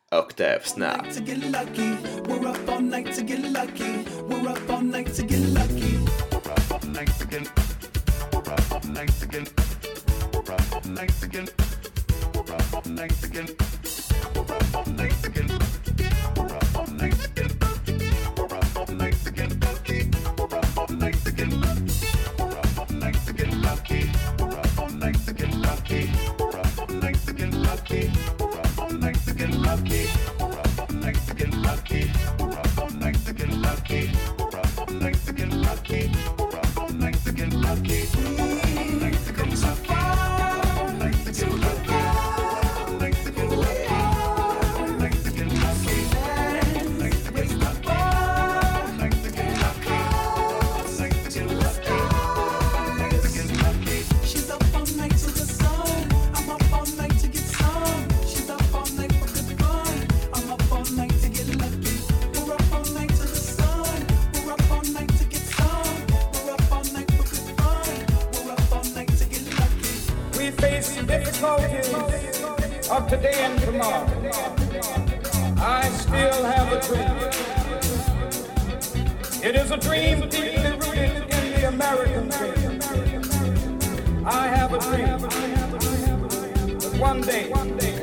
Octave Snap. To get lucky, we're up all night to get lucky. We're up all night to get lucky. We're up all night to get. We're up all night to get. We're up all night to get. We're up all night to get. We're up all night to get. We're up all night to get. We're up all night to get lucky. We're up all night to get. We're up all night to get lucky. We're up all night to get lucky. We're up all night to get lucky. We're up all night to get lucky. We're up all night to get lucky. We're up all night to get lucky. We're up all night to get lucky. We're up all night to get lucky. We're up all night to get lucky. All night to get lucky. All night to get lucky. All night to get lucky. All night to get lucky. All night to get lucky. All night to get lucky. All night to get lucky. She's up all night to the sun. I'm up all night to get some. She's up all night for good fun. I'm up all night to get lucky. We're up all night to the sun. We're up all night to get some. We're up all night for good fun. We're up all night to get lucky. We face the difficulties of today and tomorrow. I still have a dream. It is a dream deeply rooted in the American dream. I have a dream that one day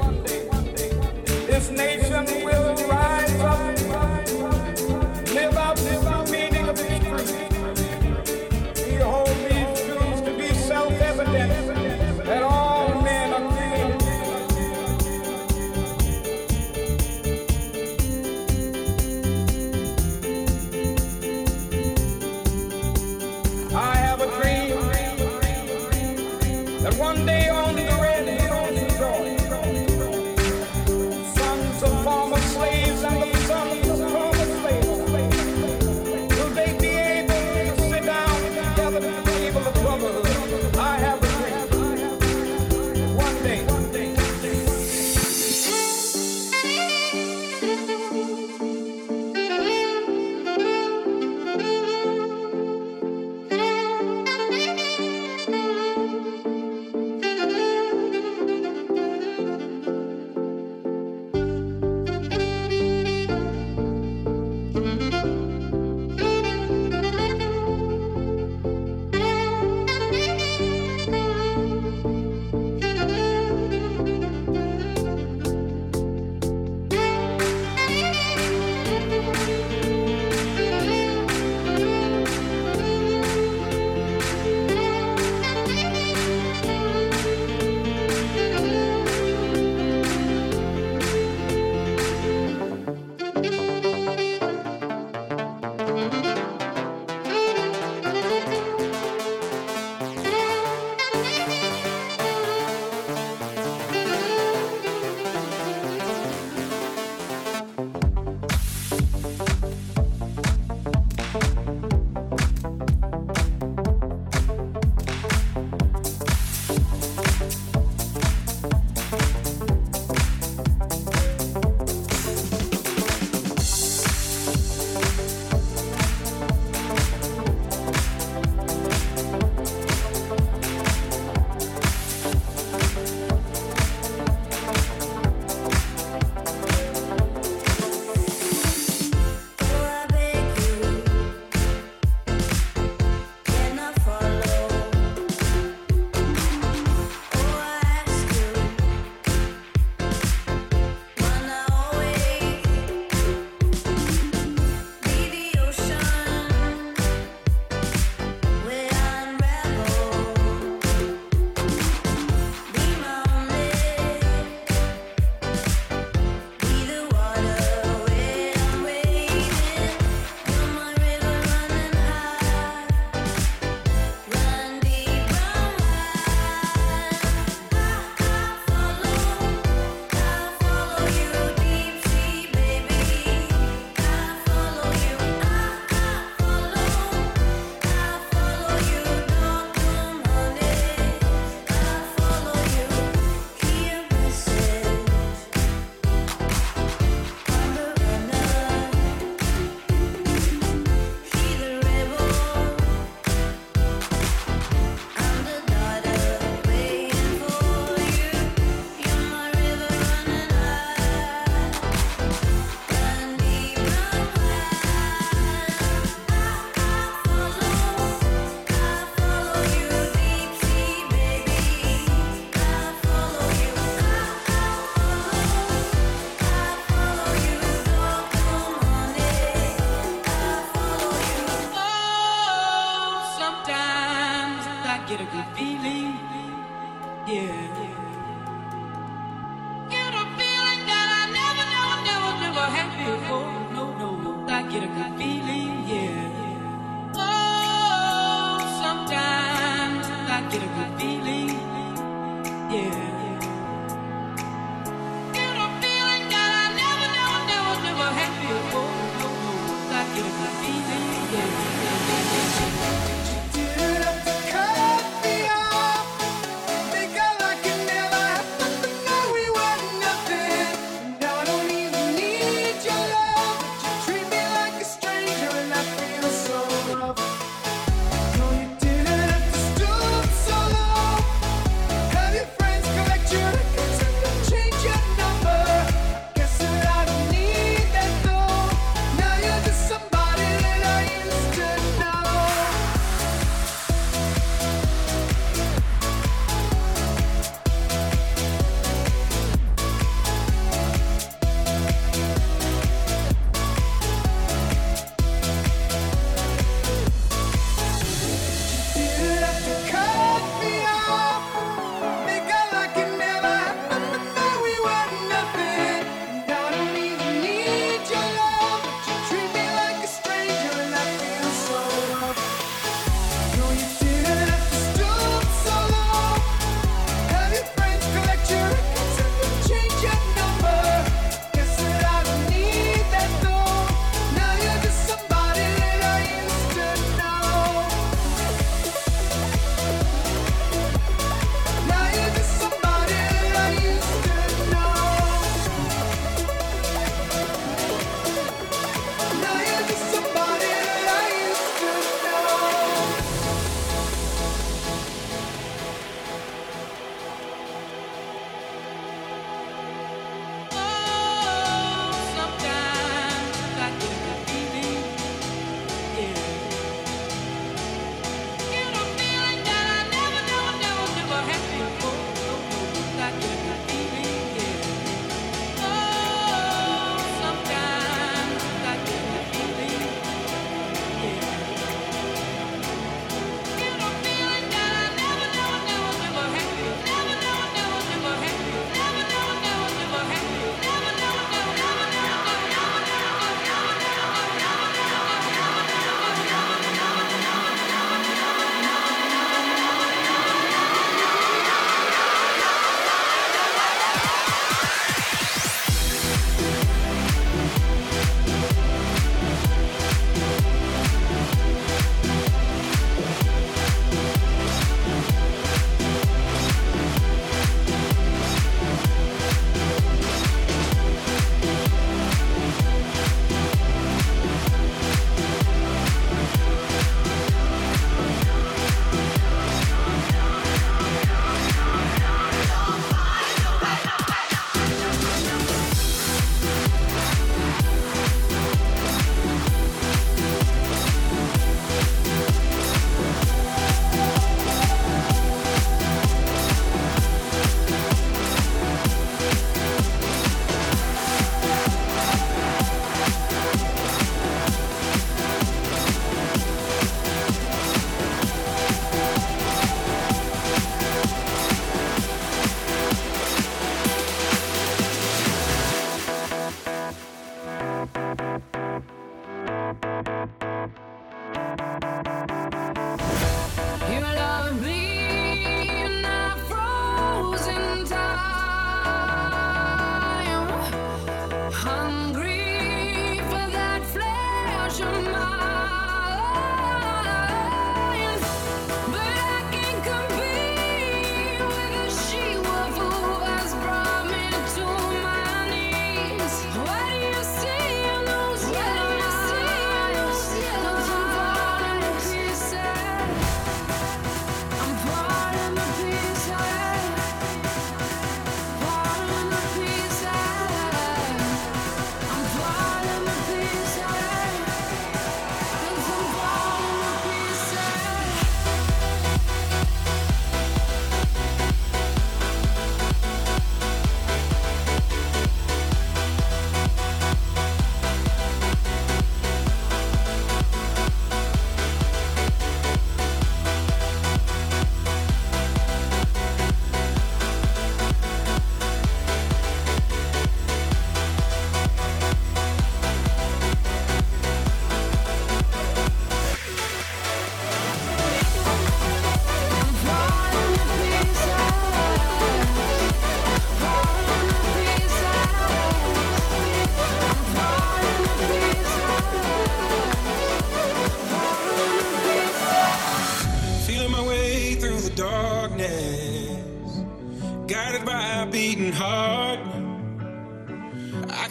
this nation will rise up, live out the meaning of its creed. We hold these truths to be self-evident that all men are created. I have a dream that one day on the red hills of Georgia, sons of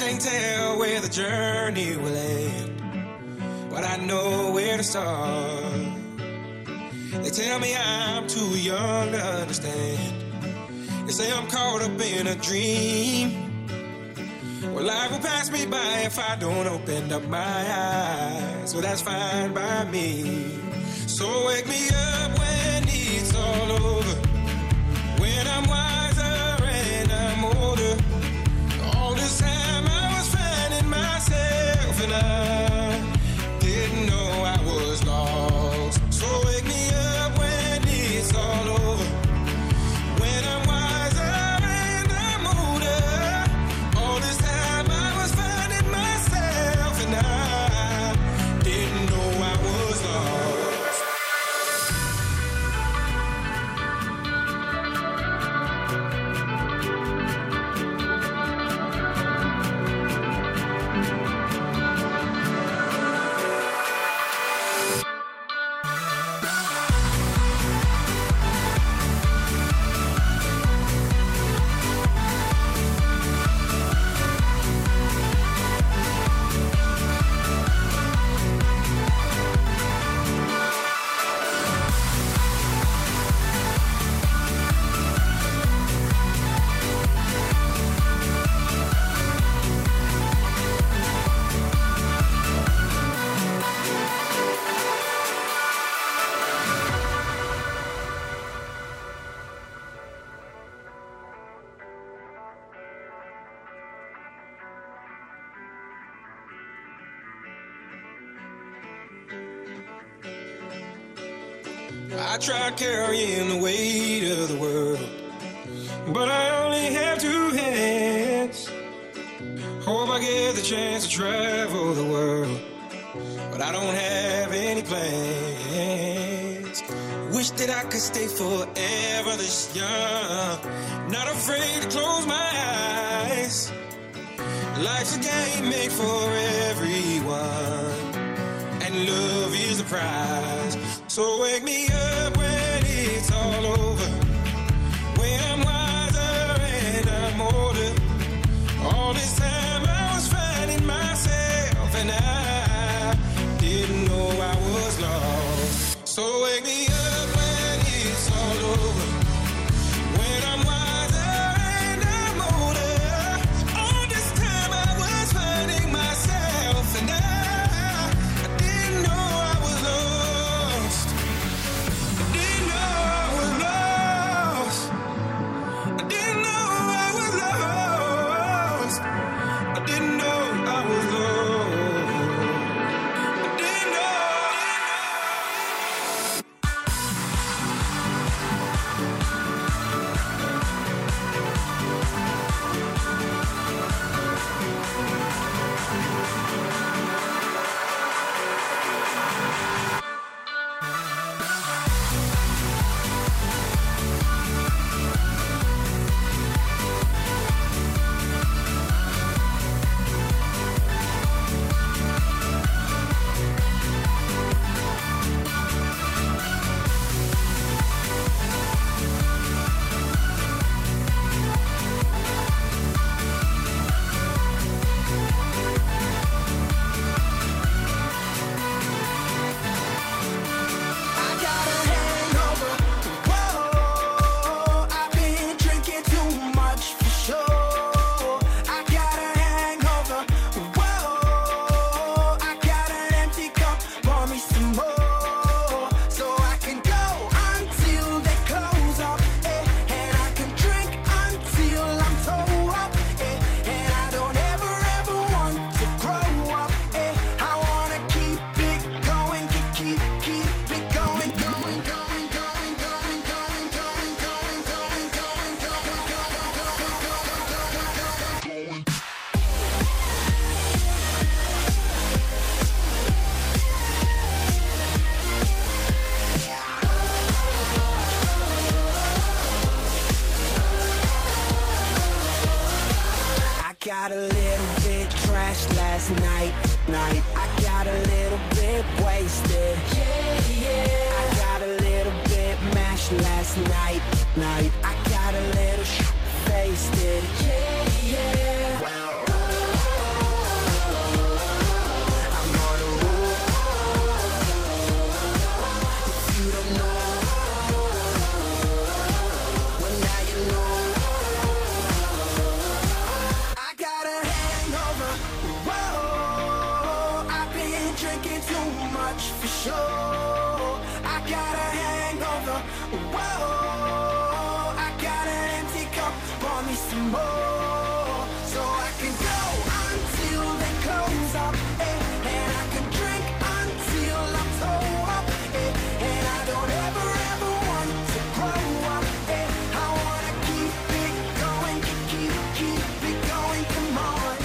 can't tell where the journey will end, but I know where to start. They tell me I'm too young to understand. They say I'm caught up in a dream. Well, life will pass me by if I don't open up my eyes. So that's fine by me. So wake me up when it's all over, when I'm wiser and I'm older. All this time I was finding myself and I didn't know I was lost. So wake me up when it's all over, when I'm wiser and I'm older. All this time I was finding myself and I didn't know I was lost. I tried carrying the weight of the world, but I only have two hands. Hope I get the chance to travel the world, but I don't have any plans. Wish that I could stay forever this young, not afraid to close my eyes. Life's a game made for everyone, and love is the prize. So wake me up when it's all over, when I'm wiser and I'm older. All this time I was finding myself and I didn't know I was lost. So wake me up when it's all over, when I'm wiser and I'm older. All this time I was finding myself and I didn't know I was lost. I didn't know I was lost. I didn't know I was lost. I didn't know I was lost. I didn't know. Got a little bit trashed last night. I got a little bit wasted. I got a little bit mashed last night. I got a little wasted. control. I got a hangover. Whoa, I got an empty cup. Pour me some more, so I can go until they close up. And I can drink until I'm toe up. And I don't ever want to grow up. I wanna keep it going, keep it going. Come on.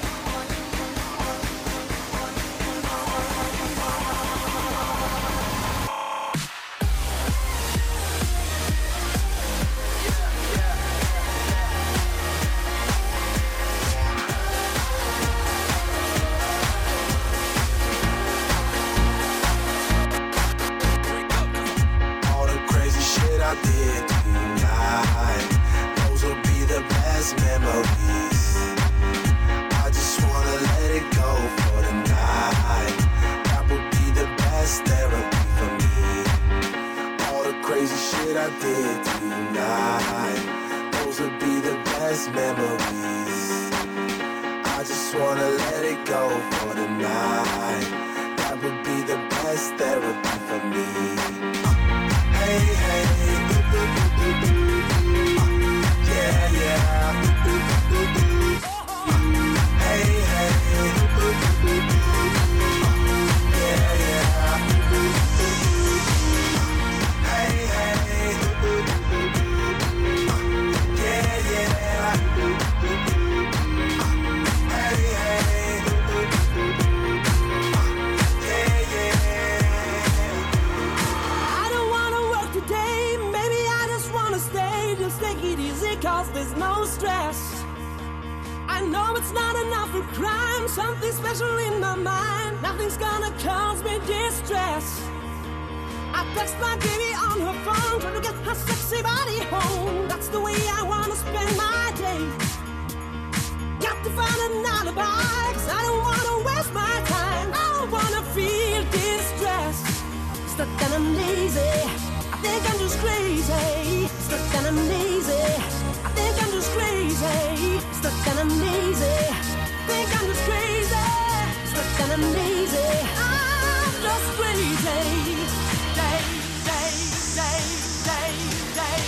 I did tonight, those will be the best memories. I just wanna let it go for the night. That would be the best therapy for me. All the crazy shit I did tonight, those will be the best memories. I just wanna let it go for the night. That would be the best therapy for me. Hey, hey, yeah, yeah. Hey, hey, yeah, yeah. Hey, hey, yeah, yeah. Hey, hey, yeah, yeah. I don't wanna work today, maybe I just wanna stay. Just take it easy, cause there's no stress. I know it's not enough for crime, something special in my mind. Nothing's gonna cause me distress. I text my baby on her phone, trying to get her sexy body home. That's the way I wanna spend my day. Got to find an alibi, cause I don't wanna waste my time. I don't wanna feel distressed. Stuck and I'm lazy, I think I'm just crazy. Stuck and I'm lazy, I think I'm just crazy. Stuck and I'm lazy, think I'm just crazy. Stuck and I'm lazy, I'm just crazy. Day, day, day, day, day.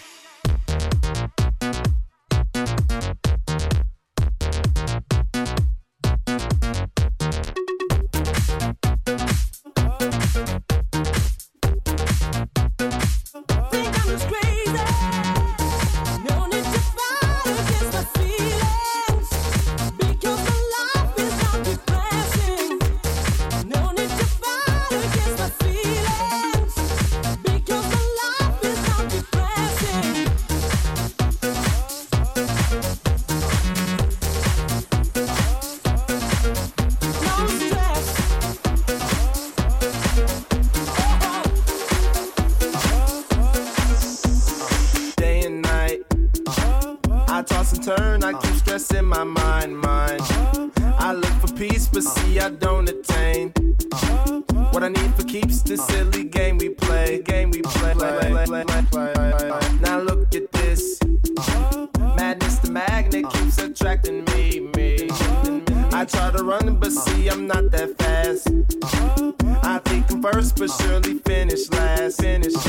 Now look at this. Madness, the magnet keeps attracting me. I try to run, but see, I'm not that fast. I think I'm first, but surely finish last.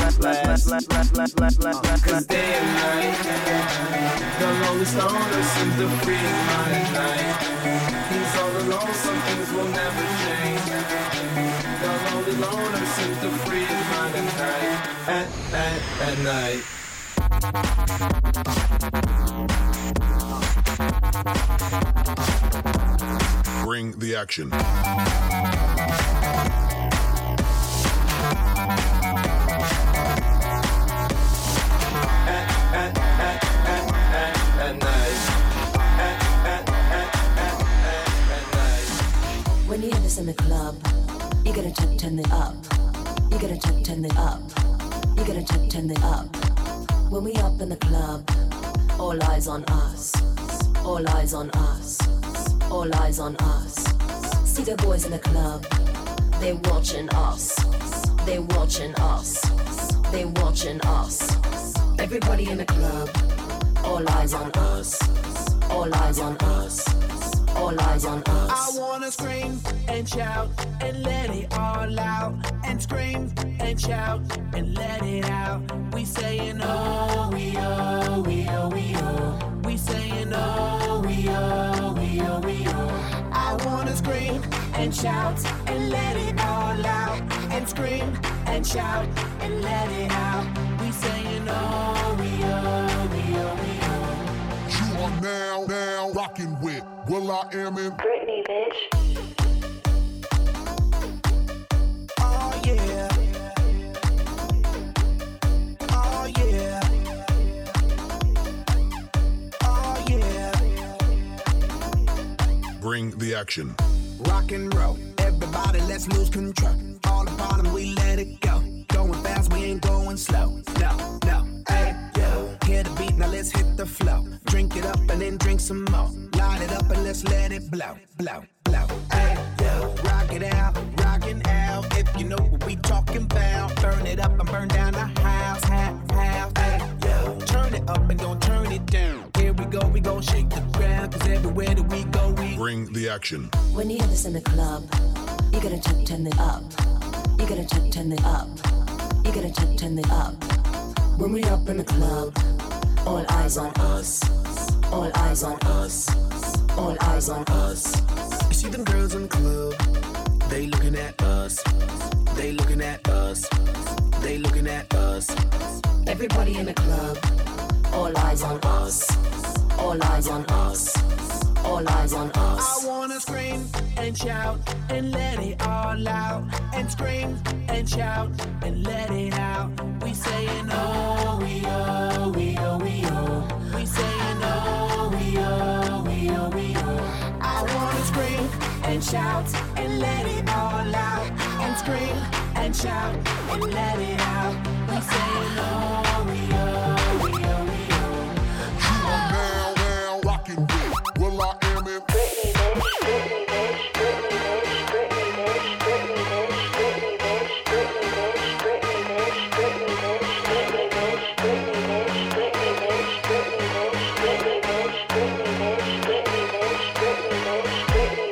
Cause day and night, the lonely stoner seems to free his mind at night. He's all alone, some things will never change. The lonely loner seems to free his mind at night. At night. Bring the action. When you hear this in the club, you gotta turn it up. You gotta turn it up. You gotta turn it up. When we up in the club, all eyes on us. All eyes on us. All eyes on us. See the boys in the club, they watching us. They watching us. They watching us. Everybody in the club, all eyes on us. All eyes on us. All All eyes on us. I wanna scream and shout and let it all out. And scream and shout and let it out. We saying oh, we oh, we oh, we oh. We saying oh, we oh, we oh, we oh. I wanna scream and shout and let it all out. And scream and shout and let it out. We saying oh, we oh, we oh, we oh. You are now rocking with Will I Am in Britney, bitch. Oh yeah. Oh yeah. Oh yeah. Bring the Action. Rock and roll, everybody let's lose control. All the bottom we let it go. Going fast, we ain't going slow. No, no, hey, yo. Hear the beat, now let's hit the flow. Drink it up and then drink some more. Light it up and let's let it blow, blow, blow. Hey, yo. Rock it out, rockin' out. If you know what we talking about. Burn it up and burn down the house, house. Hey, yo. Turn it up and don't turn it down. Here we go shake the ground. Cause everywhere that we go, we Bring the Action. When you hear this in the club, you gotta turn it up. You gotta turn it up. You gotta turn it up. When we up in the club, all eyes on us. All eyes on us. All eyes on us. You see them girls in the club, they looking at us. They looking at us. They looking at us. Everybody in the club, all eyes on us. All eyes on us. All eyes on us. I wanna scream and shout and let it all out. And scream and shout and let it out. We saying oh, we oh, we oh, we oh. We saying oh, we oh, we oh, we oh. I wanna scream and shout and let it all out. And scream and shout and let it out. We saying oh, we oh, we oh, we oh. You are now rocking with Will I Am in Britney, bitch. Britney, bitch. Britney, bitch. Britney, bitch. Britney, bitch. Britney, bitch. Britney, bitch. Britney, bitch. Britney, bitch. Britney, bitch. Britney, bitch. Britney, bitch. Britney, bitch. Britney, bitch. Britney, bitch. Britney,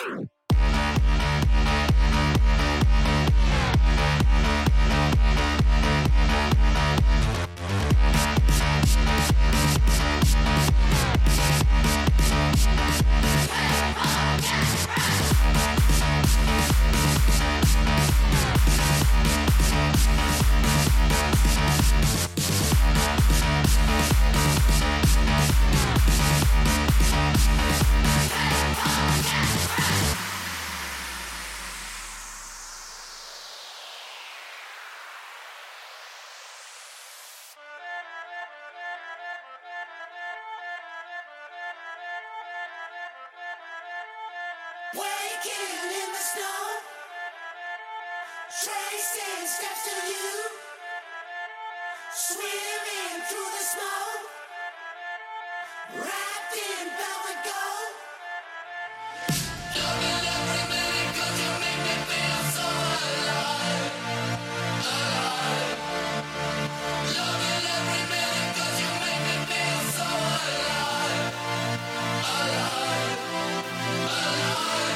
Waking in the snow, tracing steps to you, swimming through the smoke, wrapped in velvet gold. Loving every minute 'cause you make me feel so alive, alive. Loving every minute 'cause you make me feel so alive, alive, alive.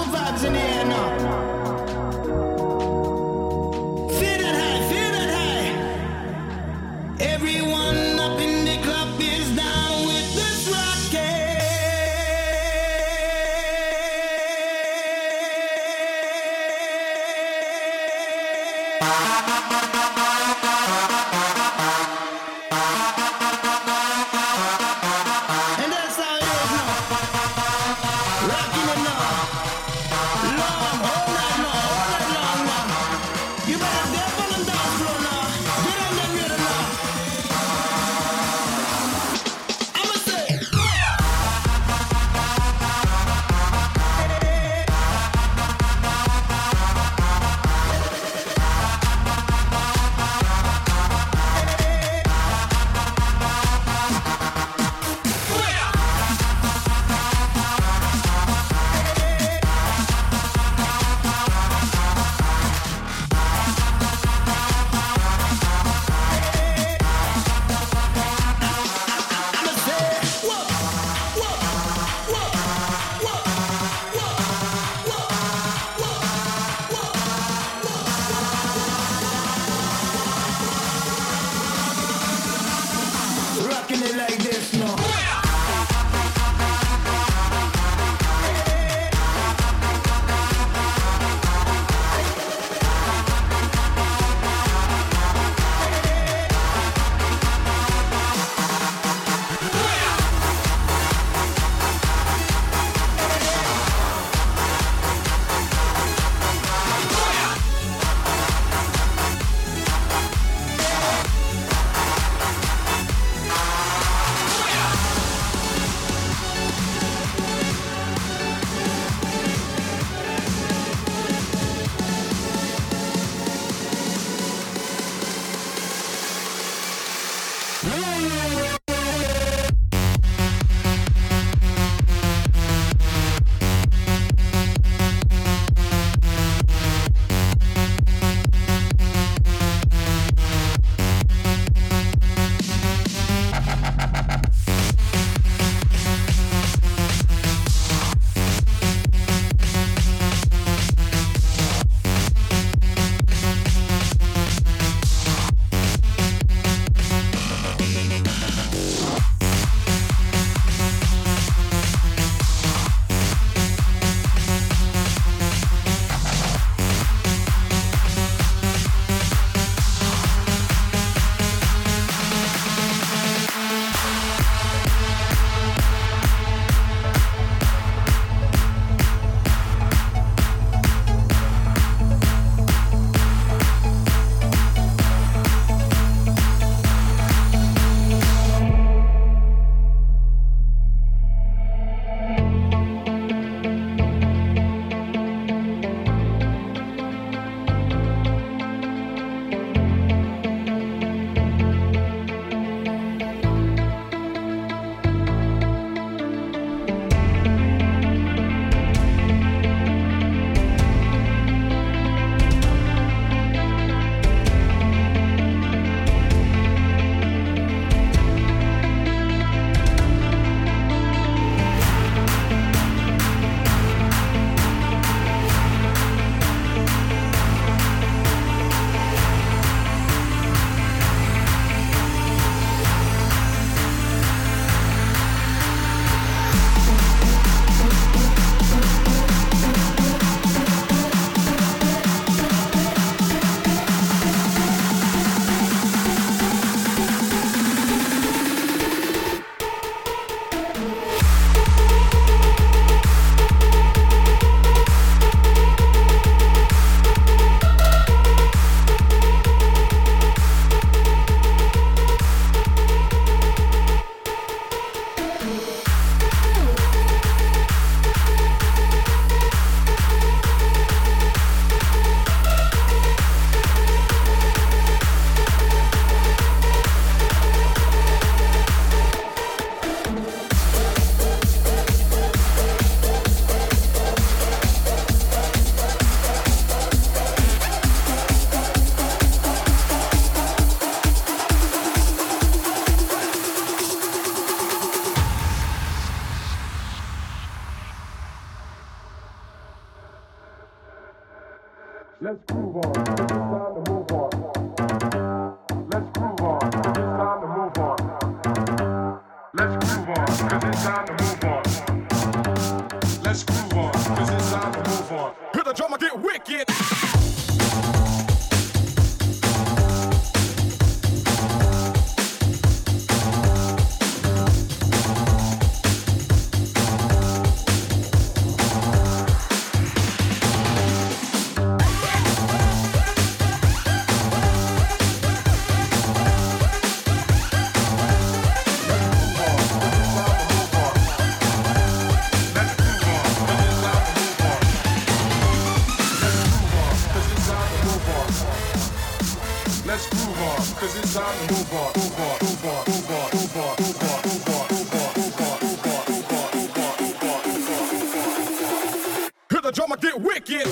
good vibes in the air now. Feel that high, feel that high. Everyone up in the club is down with this rocket. And that's how it is now. Rocking it now. Long, all night long now. You better dip on the dance floor now. Get on that rhythm now. I'ma say. Let's groove on. It's time to move on. Let's groove on. It's time to move on. Let's groove on. 'Cause it's time to move on. Let's groove on. 'Cause it's time to move on. Hear the drummer get wicked. Let's groove on, 'cause it's time to move on, move on, move on, move on, move on, move on, move on, move on, move on, move on, move on, move on, move on, move on. Hear the drummer get wicked.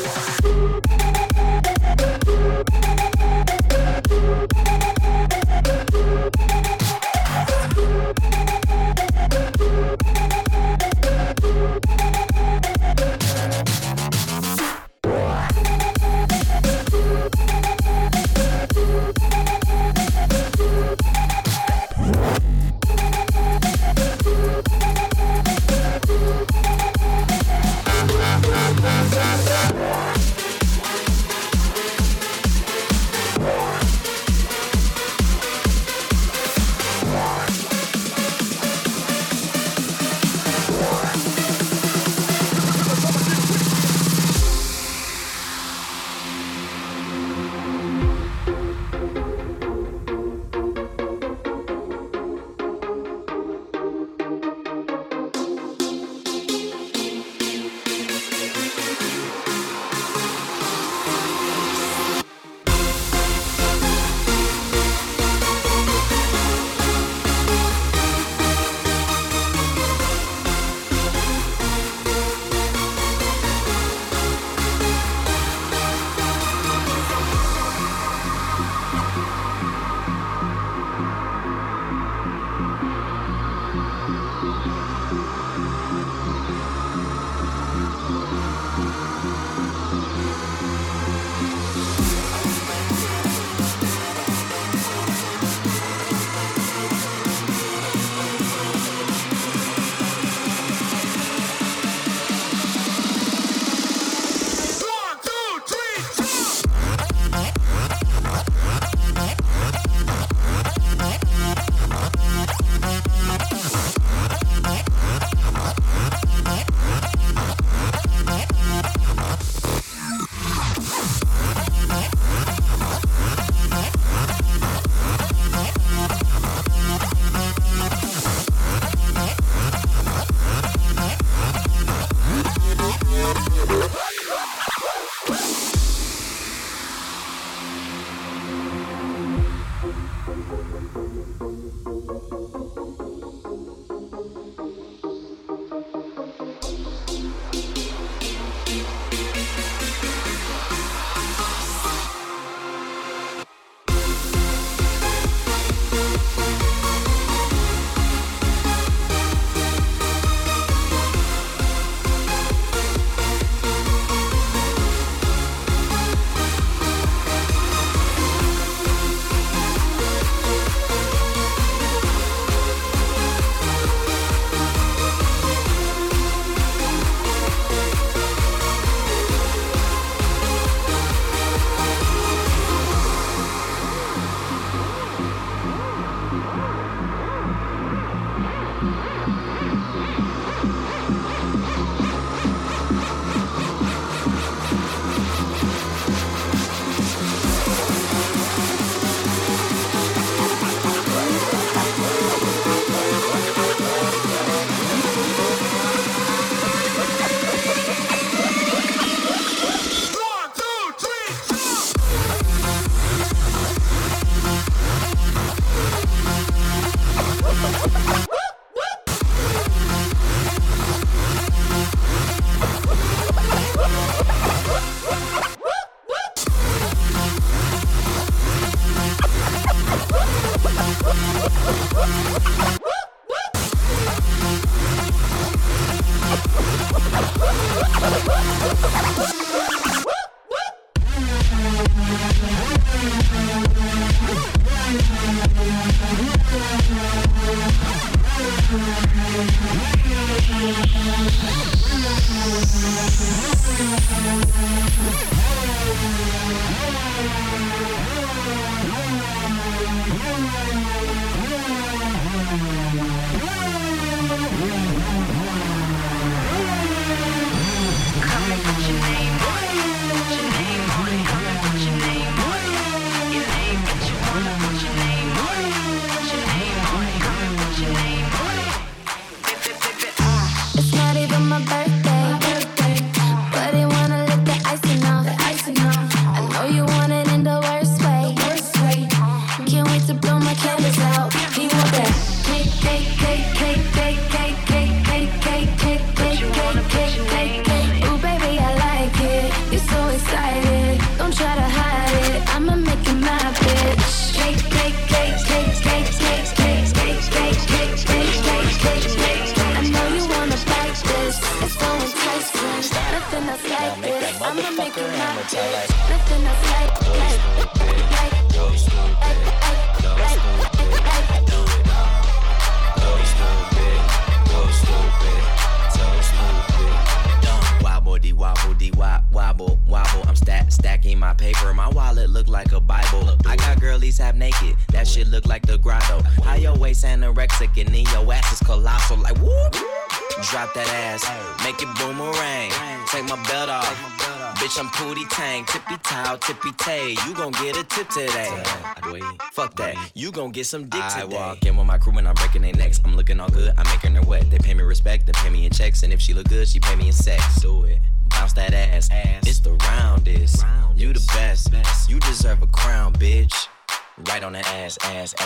Stacking my paper, my wallet look like a Bible. I got girlies half naked, that shit look like the grotto. How your waist anorexic and then your ass is colossal, like whoop. Drop that ass, make it boomerang. Take my belt off, bitch I'm Pootie Tang. Tippy towel, tippy tay, you gon' get a tip today. Fuck that, you gon' get some dick today. I walk in with my crew and I'm breaking their necks. I'm looking all good, I'm making her wet. They pay me respect, they pay me in checks. And if she look good, she pay me in sex. Do it. Bounce that ass. It's the roundest. You the best. You deserve a crown, bitch. Right on the ass.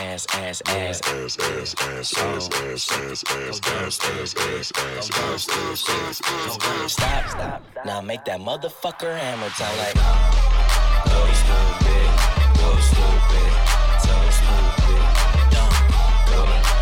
Stop. Now make that motherfucker hammer time like. Go stupid. So stupid. Dumb. Go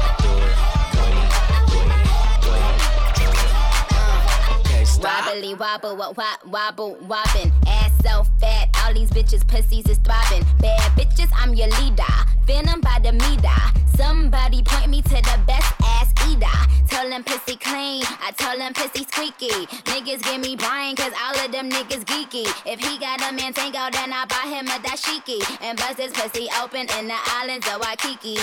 Wobbly wobble, wobbin'. Ass so fat, all these bitches pussies is throbbing. Bad bitches, I'm your leader. Venom by the meter. Somebody point me to the best ass eater. Tell them pussy clean, I tell them pussy squeaky. Niggas give me brain, cause all of them niggas geeky. If he got a man tango, then I buy him a dashiki. And bust his pussy open in the islands of Waikiki.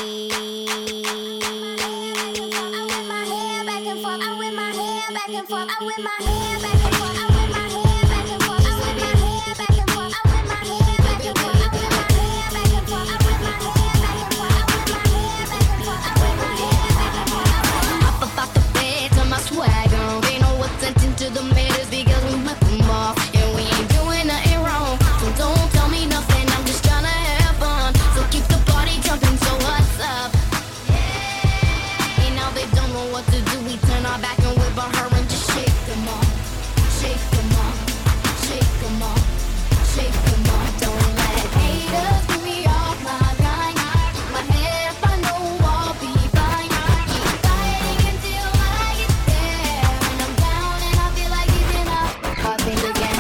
Back and forth, I whip my hair back and forth, I whip my hair back and forth, I whip my hair back and forth, I whip my hair back and forth, I whip my hair back and forth, I whip my hair back and forth, I whip my hair back and forth, I whip my hair back and forth, I whip my hair back and forth. Up off the bed to my swag on, pay no attention to the matters because we met them off, and we ain't doing nothing wrong. So don't tell me nothing, I'm just tryna have fun. So keep the party jumping, so what's up? And now they don't know what to do. We turn our back and whip on her and just shake them off. Shake them off. Shake them off. Shake them off. Don't let haters get me off my line. Keep my head up, I know I'll be fine. Keep fighting until I get there. And I'm down and I feel like giving up. I'll think again.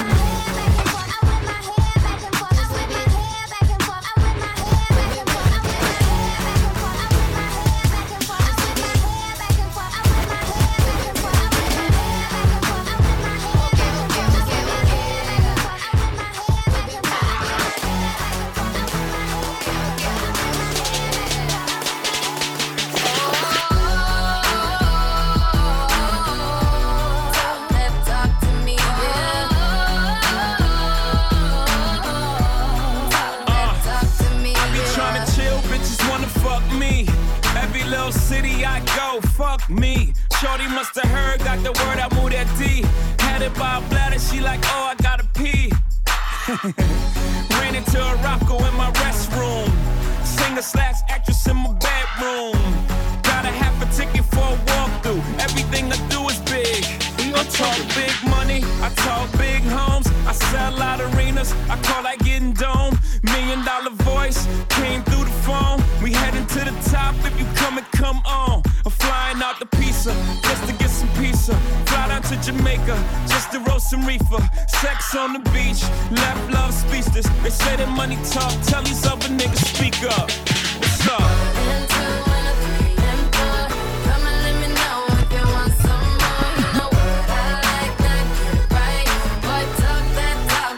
City I go, fuck me. Shorty must have heard, got the word, I moved that D. Had it by a bladder, she like, oh, I gotta pee. Ran into a Rocco in my restroom. Singer/actress in my bedroom. Got a half a ticket for a walkthrough. Everything I do is big. I talk big money, I talk big homes. I sell out arenas, I call that getting dome. $1 million voice came through the phone. We heading to the top, if you come on. I'm flying out to Pisa, just to get some pizza. Fly down to Jamaica, just to roast some reefer. Sex on the beach, left love speechless. They say that money talk, tell these other niggas speak up. What's up? Talk that talk.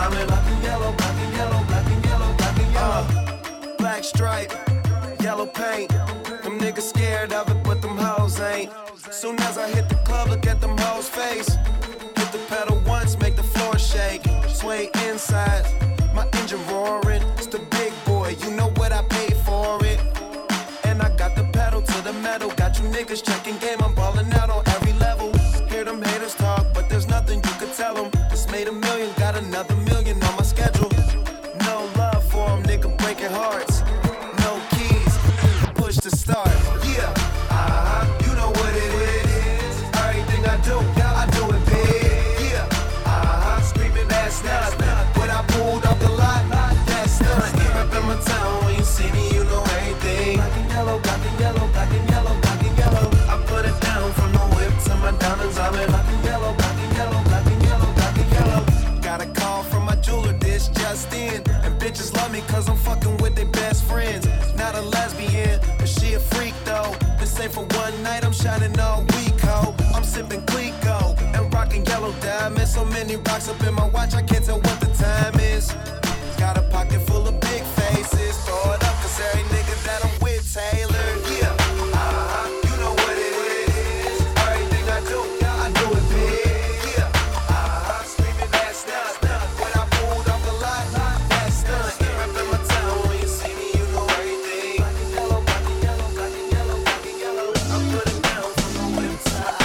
I'm in black and yellow, black and yellow, black and yellow, black and yellow. Black stripe, yellow paint. Them niggas scared of it, but them hoes ain't. Soon as I hit the club, look at them hoes' face. Hit the pedal once, make the floor shake. Sway inside, my engine roaring. It's the big boy, you know what I paid for it. And I got the pedal to the metal. Got you niggas checking game, I'm balling out on every level. Hear them haters talk, but there's nothing you could tell them. Just made $1 million, got another $1 million on my schedule. No love for them, nigga breaking hearts. No keys, push to start. Yeah, you know what it is. Everything I do it big. Yeah, screaming that's not. When I pulled up the lot, that's not. Up in my town, when you see me, you know everything. Black and yellow, black and yellow, black and yellow, black and yellow. I put it down from the whip to my diamonds. I'm in black and yellow, black and yellow, black and yellow, black and yellow. Got a call from my jeweler, this just in. And bitches love me cause I'm fucking with their best friends. Not a lesbian, but she a freak though. This ain't for one night, I'm shining all week, ho. I'm sipping Clico and rocking yellow diamonds. So many rocks up in my watch, I can't tell what the time is. Got a pocket full of big faces. Throw it up cause every nigga that I'm with Taylor. Yeah, you know what it is. Everything I do it big. Yeah, screaming that's not. When I pulled off the lot, that's done. Rep in my town, when you see me, you know everything. Black and yellow, black and yellow, black and yellow, black and yellow. I put it down from the whip to the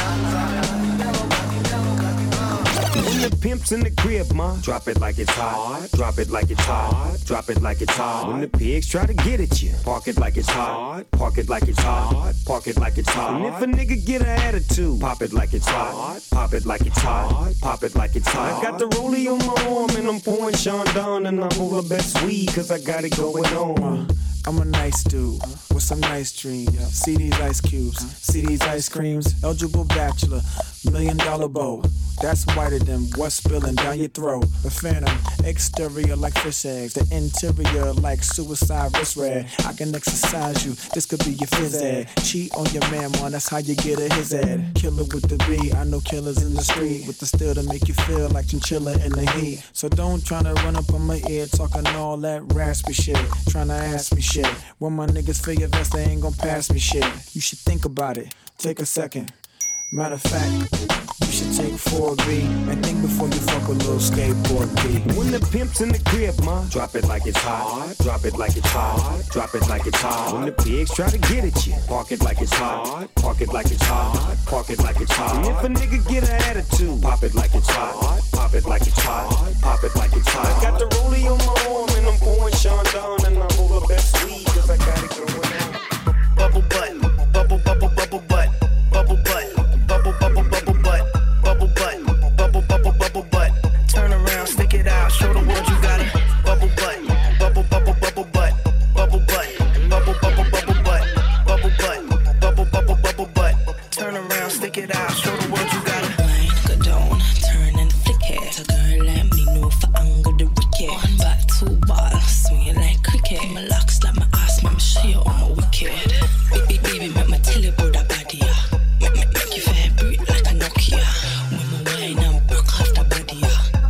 When the pimp's in the crib, ma, drop it like it's hot. Drop it like it's hot. Drop it like it's hot. When the pigs try to get at you, park it like it's hot. Park it like it's hot. Park it like it's hot. And if a nigga get an attitude, pop it like it's hot. Pop it like it's hot. Pop it like it's hot. I got the rollie on my arm and I'm pouring Sean down and I'm all the best weed cause I got it going on. I'm a nice dude with some nice dreams. See these ice cubes, see these ice creams. Eligible bachelor, $1 million bow. That's whiter than what's spilling down your throat. The phantom, exterior like fish eggs. The interior like suicide wrist red. I can exercise you, this could be your phys ed. Cheat on your man, man, that's how you get a his ed. Killer with the B, I know killers in the street. With the steel to make you feel like chinchilla in the heat. So don't tryna run up on my ear talking all that raspy shit. Tryna ask me shit. When my niggas feel your vest, they ain't gon' pass me shit. You should think about it, take a second. Matter of fact, you should take 4B and think before you fuck a little skateboard B. When the pimp's in the crib, ma, drop it like it's hot. Drop it like it's hot. Drop it like it's hot. When the pigs try to get at you, park it like it's hot. Park it like it's hot. Park it like it's hot. And if a nigga get an attitude, pop it like it's hot. Pop it like it's hot. Pop it like it's hot. I got the rollie on my arm and I'm pouring Sean down and I'm all the best weed cause I got it going on. Bubble butt, bubble, bubble, bubble butt, bubble butt. Bubble, bubble, bubble butt, bubble butt, bubble, bubble, bubble butt. Turn around, stick it out, show the world you got it. Bubble butt, bubble, bubble, bubble butt, bubble butt, bubble, bubble, bubble butt, bubble butt, bubble, bubble, bubble butt. Turn around, stick it out, show the world you got it. Wine, go down, turn and flick it. A girl like me know for angle the wicked. One back, two ball, swing it like cricket. My locks like my ass, make me show you I'm a wicked. Baby, make me tell you about that body, yeah. Make you vibrate like a Nokia. When my wine and broke off the body,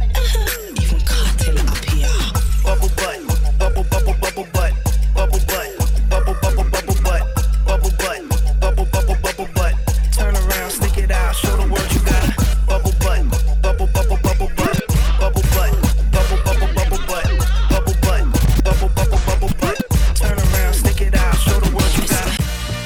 yeah. Even cartel up here. Bubble butt, bubble, bubble, bubble butt, bubble butt, bubble, bubble, bubble butt, bubble butt, bubble, bubble, bubble butt. Turn around, stick it out, show the world you got it. Bubble butt, bubble, bubble, bubble butt, bubble butt, bubble, bubble, bubble butt, bubble butt, bubble, bubble, bubble butt. Turn around, stick it out, show the world you got it.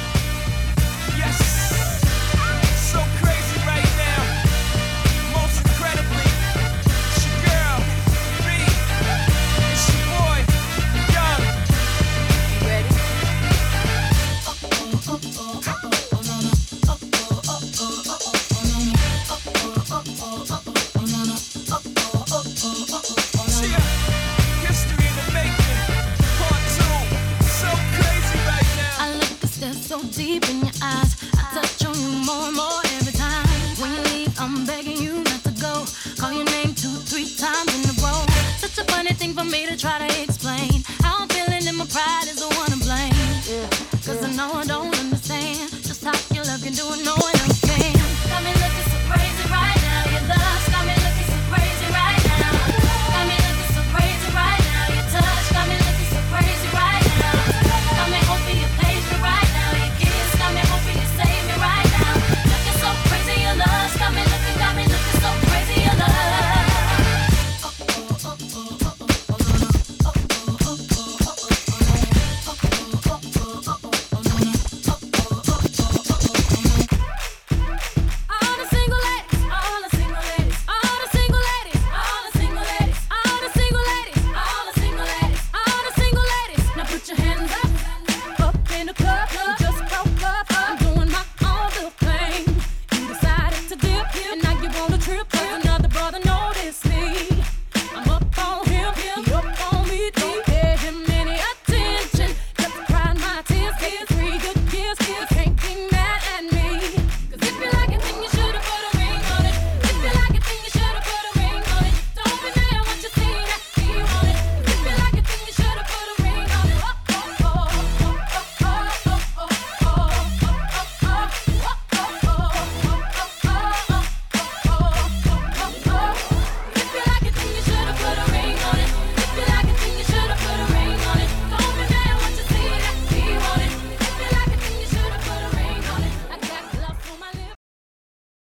So deep in your eyes, I touch on you more and more every time. When you leave, I'm begging you not to go. Call your name 2-3 times in a row. Such a funny thing for me to try to explain.